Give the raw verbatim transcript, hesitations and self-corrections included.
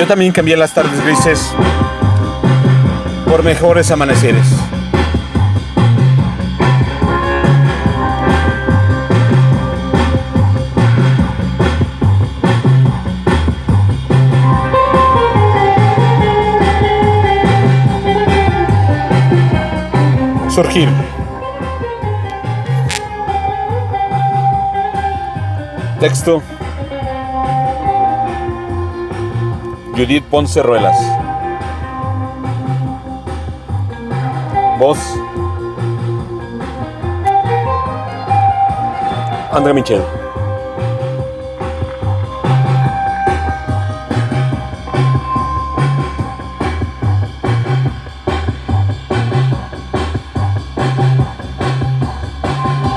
Yo también cambié las tardes grises por mejores amaneceres. Surgir. Texto: Judith Ponce Ruelas. Voz: André Michel.